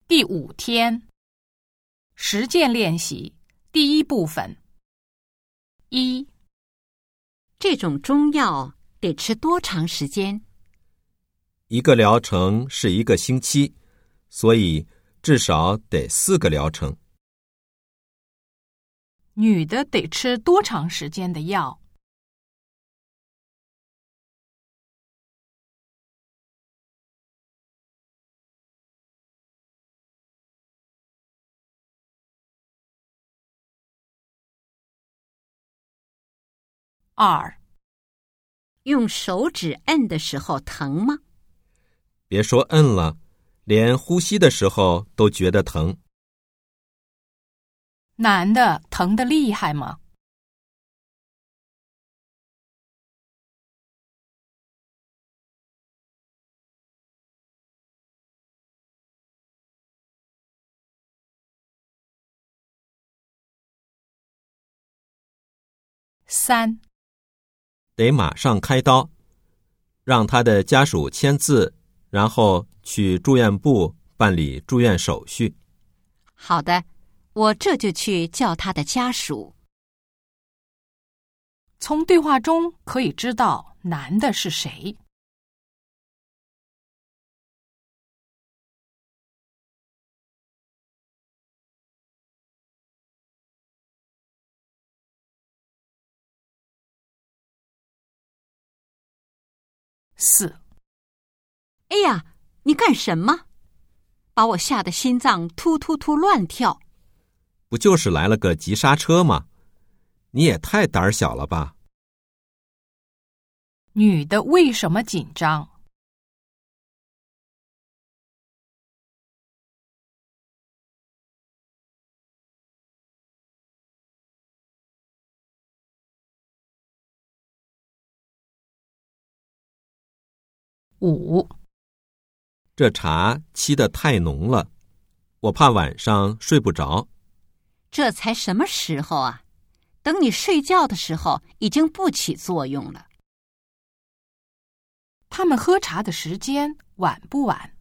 第5天，实践练习第1部分。1， 这种中药得吃多长时间 ？1个疗程是1个星期，所以至少得4个疗程。 女的得吃多长时间的药？2， 用手指摁的时候疼吗？ 别说摁了，连呼吸的时候都觉得疼。 男的疼得厉害吗？3， 得马上开刀，让他的家属签字，然后去住院部办理住院手续。 好的，我这就去叫他的家属。 从对话中可以知道男的是谁。4， 哎呀，你干什么？把我吓得心脏突突突乱跳。 不就是来了个急刹车吗？你也太胆小了吧。 女的为什么紧张？5， 这茶沏得太浓了，我怕晚上睡不着。 这才什么时候啊？等你睡觉的时候已经不起作用了。 他们喝茶的时间晚不晚？